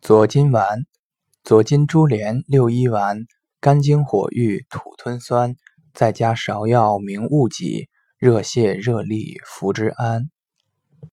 左金丸，左金珠连6一丸，肝经火郁，土吞酸，再加芍药明雾剂，热泻热痢，服之安。